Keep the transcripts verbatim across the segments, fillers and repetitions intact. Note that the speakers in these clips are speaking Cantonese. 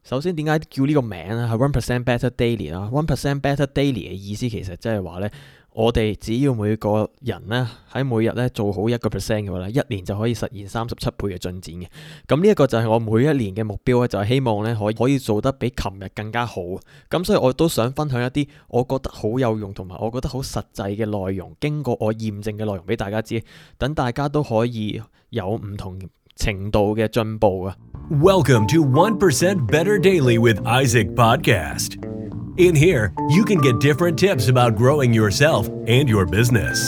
首先點解叫呢個名咧係 one percent better daily 啦 one percent better daily 嘅意思其實即係話呢，我哋只要每個人呢喺每日呢做好一個 percent 嘅話呢，一年就可以實現三十七倍嘅進展嘅。咁呢一個就係我每一年嘅目標咧，就係希望呢可以可以做得比琴日更加好。咁所以我都想分享一啲我覺得好有用同埋我覺得好實際嘅內容，經過我驗證嘅內容俾大家知，等大家都可以有唔同程度嘅進步啊。 Welcome to one percent Better Daily with Isaac Podcast. In here, you can get different tips about growing yourself and your business.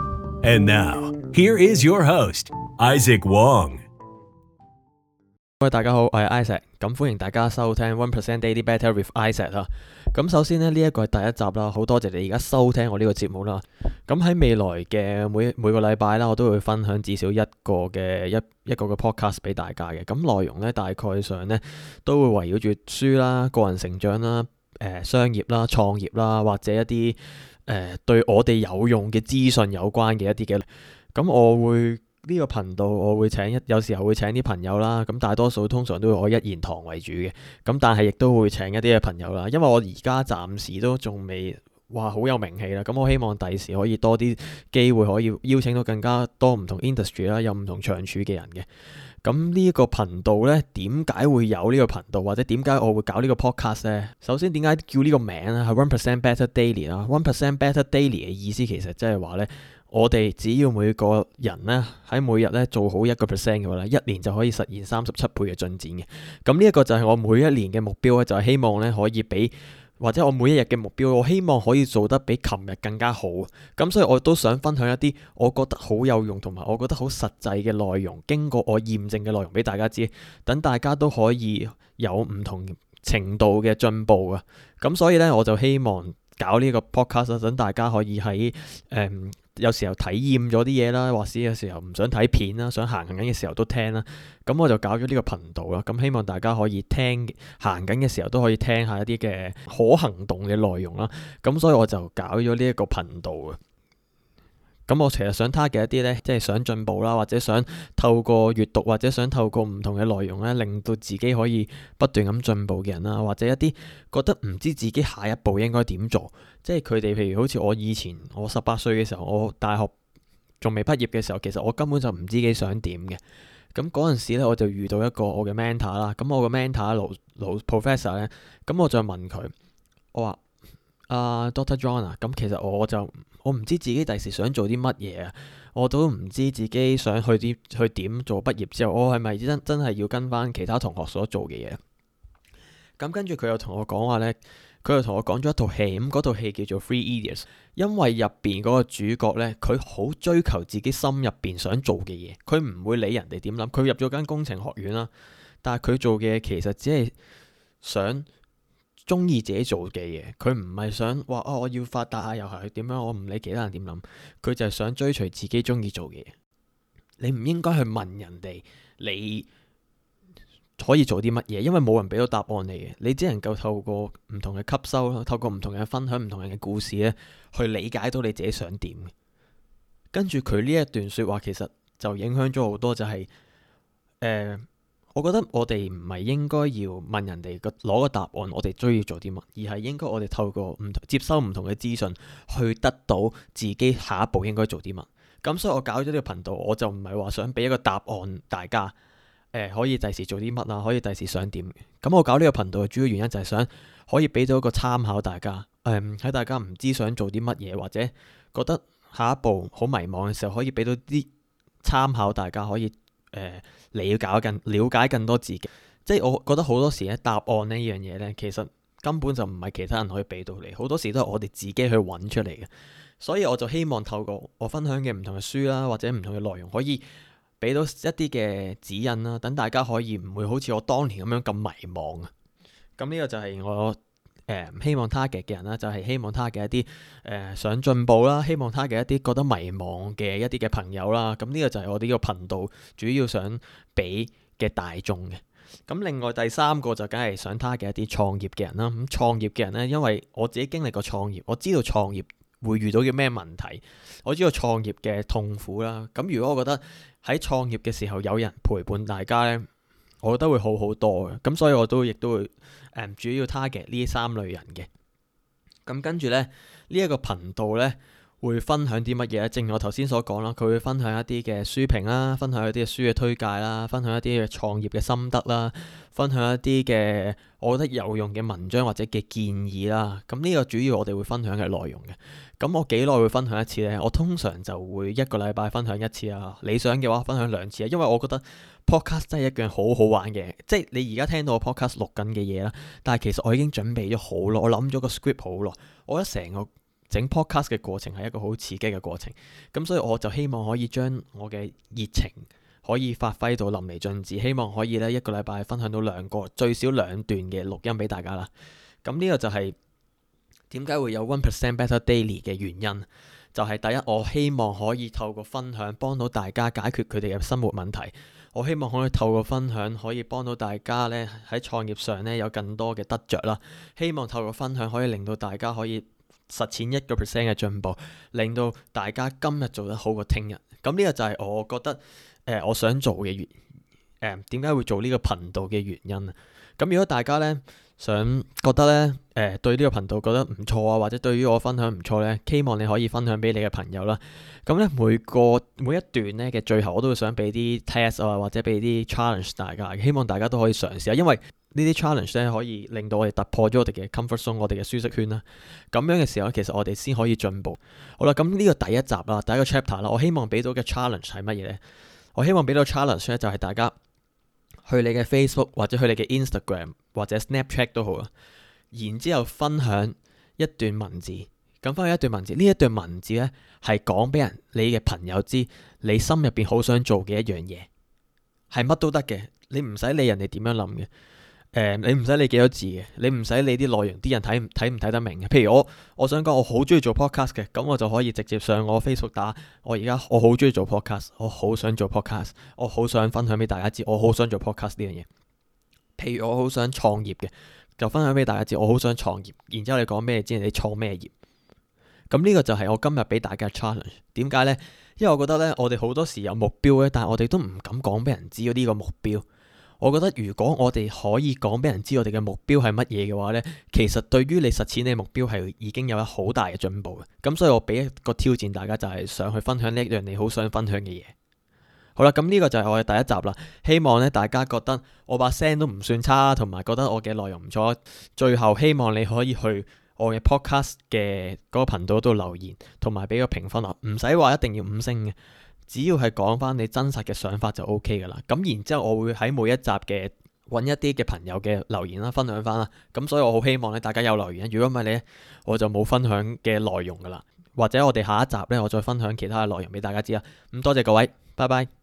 And now, here is your host, Isaac Wong. 各位大家好，我係 Isaac， 咁歡迎大家收聽 one percent Daily Better with Isaac 啦。咁首先呢，呢一個係第一集啦，好多謝你而家收聽我呢個節目啦。咁喺未來嘅每每個禮拜啦，我都會分享至少一個嘅一一個嘅 podcast 俾大家嘅。咁內容呢，大概上呢都會圍繞住書啦、個人成長啦、誒、呃、商業啦、創業啦，或者一啲誒、呃、對我哋有用嘅資訊有關嘅一啲嘅。咁我會呢個頻道我會請一有時候會請啲朋友啦，咁大多數通常都會我一言堂為主嘅，咁但係亦都會請一啲嘅朋友啦，因為我而家暫時都仲未話好有名氣啦，咁我希望第時可以多啲機會可以邀請到更加多唔同 industry 啦，有唔同長處嘅人嘅。咁呢一個頻道呢，點解會有呢個頻道，或者點解我會搞呢個 podcast 呢？首先點解叫呢個名咧係 one percent better daily 啦 one percent better daily 嘅意思其實即係話呢，我哋只要每個人呢喺每日呢做好一個 percent 嘅話呢，一年就可以實現三十七倍嘅進展嘅。咁呢一個就係我每一年嘅目標咧，就係希望呢可以俾或者我每一日嘅目標，我希望可以做得比琴日更加好。咁所以我都想分享一啲我覺得好有用同埋我覺得好實際嘅內容，經過我驗證嘅內容俾大家知，等大家都可以有唔同程度嘅進步啊。咁所以呢，我就希望搞呢個 podcast， 等大家可以喺誒、嗯有時候體驗咗啲嘢啦，或者有時候唔想睇片啦，想行緊嘅時候都聽啦。咁我就搞咗呢個頻道啦。咁希望大家可以聽行緊嘅時候都可以聽下一啲嘅可行動嘅內容啦。咁所以我就搞咗呢一個頻道啊。咁我其實想 target 一啲呢，即係想進步啦，或者想透過閱讀或者想透過唔同嘅內容呢，令到自己可以不斷咁進步嘅人啦，或者一啲覺得唔知自己下一步應該點做，即係佢哋譬如好似我以前我十八歲嘅時候，我大學仲未畢業嘅時候，其實我根本就唔知自己想點嘅。咁嗰陣時呢，我就遇到一個我嘅 mentor 啦。咁我嘅 mentor 老老 professor 呢，咁我就問佢，我話啊、uh, Doctor John 啊，咁其實我就我唔知自己第時想做啲乜嘢啊，我都唔知自己想去啲去點做畢業之後，我係咪真真係要跟翻其他同學所做嘅嘢？咁跟住佢又同我講話呢，佢又同我講咗一套戲，咁嗰套戲叫做 Three Idiots， 因為入邊嗰個主角呢，佢好追求自己心入邊想做嘅嘢，佢唔會理人哋點諗。佢入咗間工程學院啦，但係佢做嘅嘢其實只係想中意自己做嘅嘢，佢唔係想話哦我要發達啊，又係點樣，我唔理其他人點諗，佢就係想追隨自己中意做嘅嘢。你唔應該去問人哋你可以做啲乜嘢，因為冇人俾到答案你嘅，你只能夠透過唔同嘅吸收，透過唔同嘅分享，唔同人嘅故事咧，去理解到你自己想點。跟住佢呢一段說話，其實就影響咗好多，就係、是、誒。呃我覺得我哋唔係應該要問人哋個攞個答案，我哋需要做啲乜，而係應該我哋透過唔同接收唔同嘅資訊，去得到自己下一步應該做啲乜。咁所以我搞咗呢個頻道，我就唔係話想俾一個答案大家，誒、呃、可以第時做啲乜啊，可以第時想點。咁我搞呢個頻道嘅主要原因就係想可以俾到一個參考大家，誒、呃、喺大家唔知想做啲乜嘢，或者覺得下一步好迷茫嘅時候，可以俾到啲參考大家可以。誒、呃，了解更了解更多自己，即係我覺得好多時咧，答案呢樣嘢咧，其實根本就唔係其他人可以俾到你，好多時都係我哋自己去揾出嚟嘅。所以我就希望透過我分享嘅唔同嘅書啦，或者唔同嘅內容，可以俾到一啲嘅指引啦，等大家可以唔會好似我當年咁樣咁迷茫啊。咁呢個就係我。誒、呃，希望 target 嘅人啦，就係、是、希望 target 一啲誒、呃、想進步啦，希望 target 一啲覺得迷茫嘅一啲嘅朋友啦。咁呢個就係我哋呢個頻道主要想俾嘅大眾嘅。咁另外第三個就梗係想 target 一啲創業嘅人啦。咁創業嘅人呢，因為我自己經歷過創業，我知道創業會遇到嘅咩問題，我知道創業嘅痛苦啦。咁如果我覺得喺創業嘅時候有人陪伴大家呢， 我覺得會好好多嘅。咁所以我都亦都會誒、嗯、主要 target 呢三類人嘅。咁跟住咧，呢、這、一個頻道咧會分享啲乜嘢咧？正如我頭先所講啦，佢會分享一啲嘅書評啦，分享一啲嘅書嘅推介啦，分享一啲嘅創業嘅心得啦，分享一啲嘅我覺得有用嘅文章或者嘅建議啦。咁呢個主要我哋會分享嘅內容嘅。咁我幾耐會分享一次呢？我通常就會一個禮拜分享一次啊。理想嘅話分享兩次啊，因為我覺得 podcast 真係一樣好好玩嘅。即係你而家聽到我 podcast 錄緊嘅嘢啦，但係其實我已經準備咗好耐，我諗咗個 script 好耐。我覺得成個整 podcast 嘅過程係一個好刺激嘅過程。咁所以我就希望可以將我嘅熱情可以發揮到淋漓盡致，希望可以咧一個禮拜分享到兩個最少兩段嘅錄音俾大家啦。咁呢個就係點解會有 one percent better daily 嘅原因，就係、是、第一，我希望可以透過分享幫到大家解決佢哋嘅生活問題。我希望可以透過分享可以幫到大家咧喺創業上咧有更多嘅得着啦。希望透過分享可以令到大家可以實踐一個 percent 嘅進步，令到大家今日做得好過聽日。咁呢個就係我覺得誒、呃、我想做嘅原誒點解會做呢個頻道嘅原因啊。咁如果大家咧想覺得咧誒、呃、對呢個頻道覺得唔錯啊，或者對於我分享唔錯咧，希望你可以分享俾你嘅朋友啦。咁咧每個每一段咧嘅最後我都會想俾啲 test 啊，或者俾啲 challenge 大家，希望大家都可以嘗試下，因為呢啲 challenge 咧可以令到我哋突破咗我哋嘅 comfort zone， 我哋嘅舒適圈啦。咁樣嘅時候其實我哋先可以進步。好啦，咁呢個第一集啦，第一個 chapter 啦，我希望俾到嘅 challenge 係乜嘢咧？我希望俾到 challenge 咧就係大家去你嘅 Facebook 或者去你嘅 Instagram 或者 Snapchat 都好啦，然之後分享一段文字。咁分享一段文字，呢一段文字咧係講俾人你嘅朋友知，你心入邊好想做嘅一樣嘢，係乜都得嘅，你唔使理人哋點樣諗嘅。誒、呃，你唔使理幾多字嘅，你唔使理啲內容，啲人睇唔睇唔睇得明嘅。譬如我，我想講我好中意做 podcast 嘅，咁我就可以直接上我 Facebook 打，我而家我好中意做 podcast，我好想做 podcast，我好想分享俾大家知，我好想做 podcast 呢樣嘢。譬如我好想創業嘅，就分享俾大家知，我好想創業。然之後你講咩知，你創咩業？咁呢個就係我今日俾大家 challenge。點解呢？因為我覺得呢，我哋好多時有目標咧，但係我哋都唔敢講俾人知呢個目標。我覺得如果我哋可以講俾人知我哋嘅目標係乜嘢嘅話呢，其實對於你實踐你目標係已經有一好大嘅進步嘅。咁所以我俾一個挑戰大家，就係上去分享呢一樣你好想分享嘅嘢。好啦，咁呢個就係我嘅第一集啦。希望咧大家覺得我把聲都唔算差，同埋覺得我嘅內容唔錯。最後希望你可以去我嘅 podcast 嘅嗰個頻道度留言，同埋俾個評分啊，唔使話一定要五星嘅。只要係講翻你真實嘅想法就 O K 噶啦。咁然之後我會喺每一集嘅揾一啲嘅朋友嘅留言啦，分享翻啦。咁所以我好希望咧大家有留言，如果唔係咧我就冇分享嘅內容噶啦。或者我哋下一集咧我再分享其他嘅內容俾大家知啦。咁多謝各位，拜拜。